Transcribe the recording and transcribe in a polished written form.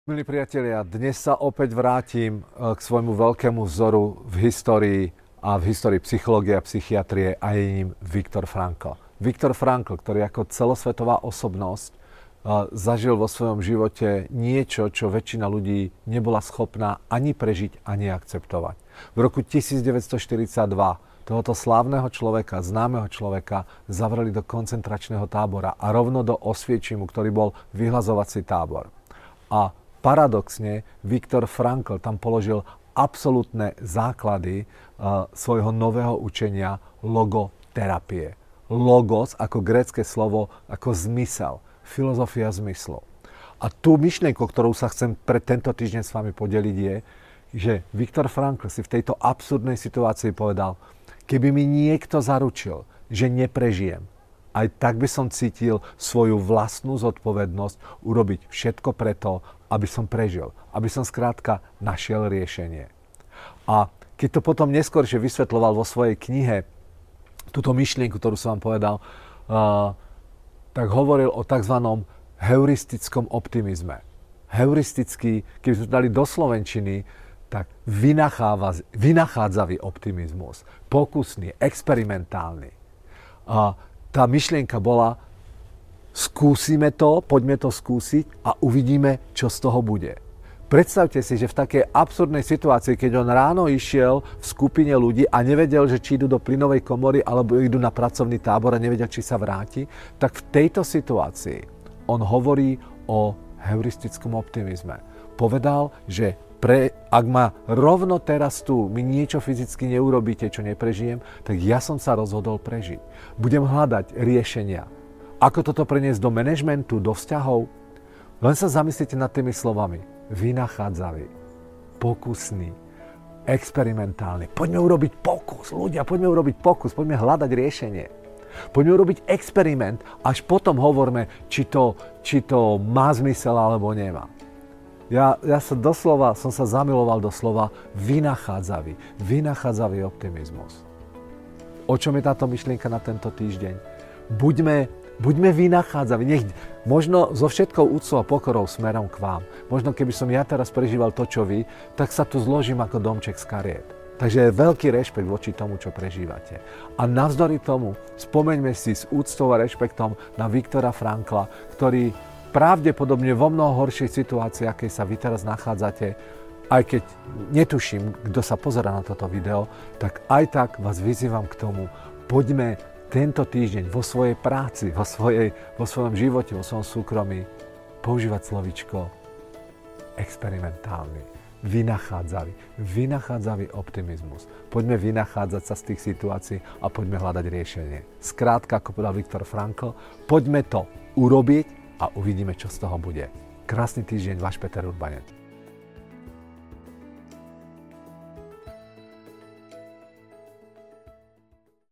Milí priatelia, dnes sa opäť vrátim k svojmu veľkému vzoru v histórii a v histórii psychológie a psychiatrie a je ním Viktor Frankl. Viktor Frankl, ktorý ako celosvetová osobnosť zažil vo svojom živote niečo, čo väčšina ľudí nebola schopná ani prežiť, ani akceptovať. V roku 1942 tohoto slávneho človeka, známeho človeka, zavreli do koncentračného tábora a rovno do Osviečimu, ktorý bol vyhlazovací tábor. A paradoxne, Viktor Frankl tam položil absolútne základy svojho nového učenia logoterapie. Logos ako grécke slovo, ako zmysel, filozofia zmyslu. A tú myšlienku, ktorú sa chcem pre tento týždeň s vami podeliť je, že Viktor Frankl si v tejto absurdnej situácii povedal, keby mi niekto zaručil, že neprežijem, aj tak by som cítil svoju vlastnú zodpovednosť urobiť všetko preto, aby som prežil, aby som skrátka našiel riešenie. A keď to potom neskôršie vysvetľoval vo svojej knihe, túto myšlienku, ktorú som vám povedal, tak hovoril o tzv. Heuristickom optimizme. Heuristický, keby sme to dali do slovenčiny, tak vynachádzavý optimizmus, pokusný, experimentálny. A tá myšlienka bola, skúsime to, poďme to skúsiť a uvidíme, čo z toho bude. Predstavte si, že v takej absurdnej situácii, keď on ráno išiel v skupine ľudí a nevedel, že či idú do plynovej komory alebo idú na pracovný tábor a nevedel, či sa vráti, tak v tejto situácii on hovorí o heuristickom optimizme. Povedal, že ak ma rovno teraz tu mi niečo fyzicky neurobíte, čo neprežijem, tak ja som sa rozhodol prežiť. Budem hľadať riešenia. Ako toto preniesť do manažmentu, do vzťahov? Len sa zamyslite nad tými slovami. Vynachádzavý, pokusný, experimentálny. Poďme urobiť pokus, ľudia, poďme urobiť pokus, poďme hľadať riešenie. Poďme urobiť experiment, až potom hovorme, či to má zmysel alebo nemá. Ja som sa zamiloval do slova vynachádzavý optimizmus. O čom je táto myšlienka na tento týždeň? Buďme vynachádzaví. Možno so všetkou úctou a pokorou smerom k vám. Možno keby som ja teraz prežíval to, čo vy, tak sa tu zložím ako domček z kariet. Takže je veľký rešpekt voči tomu, čo prežívate. A navzdory tomu spomeňme si s úctou a rešpektom na Viktora Frankla, ktorý pravdepodobne vo mnoho horšej situácii, akej sa vy teraz nachádzate, aj keď netuším, kto sa pozerá na toto video, tak aj tak vás vyzývam k tomu, poďme tento týždeň vo svojej práci, vo svojom živote, vo svojom súkromí používať slovíčko experimentálny, vynachádzavý optimizmus. Poďme vynachádzať sa z tých situácií a poďme hľadať riešenie. Skrátka, ako povedal Viktor Frankl, poďme to urobiť a uvidíme, čo z toho bude. Krásny týždeň, váš Peter Urbanec.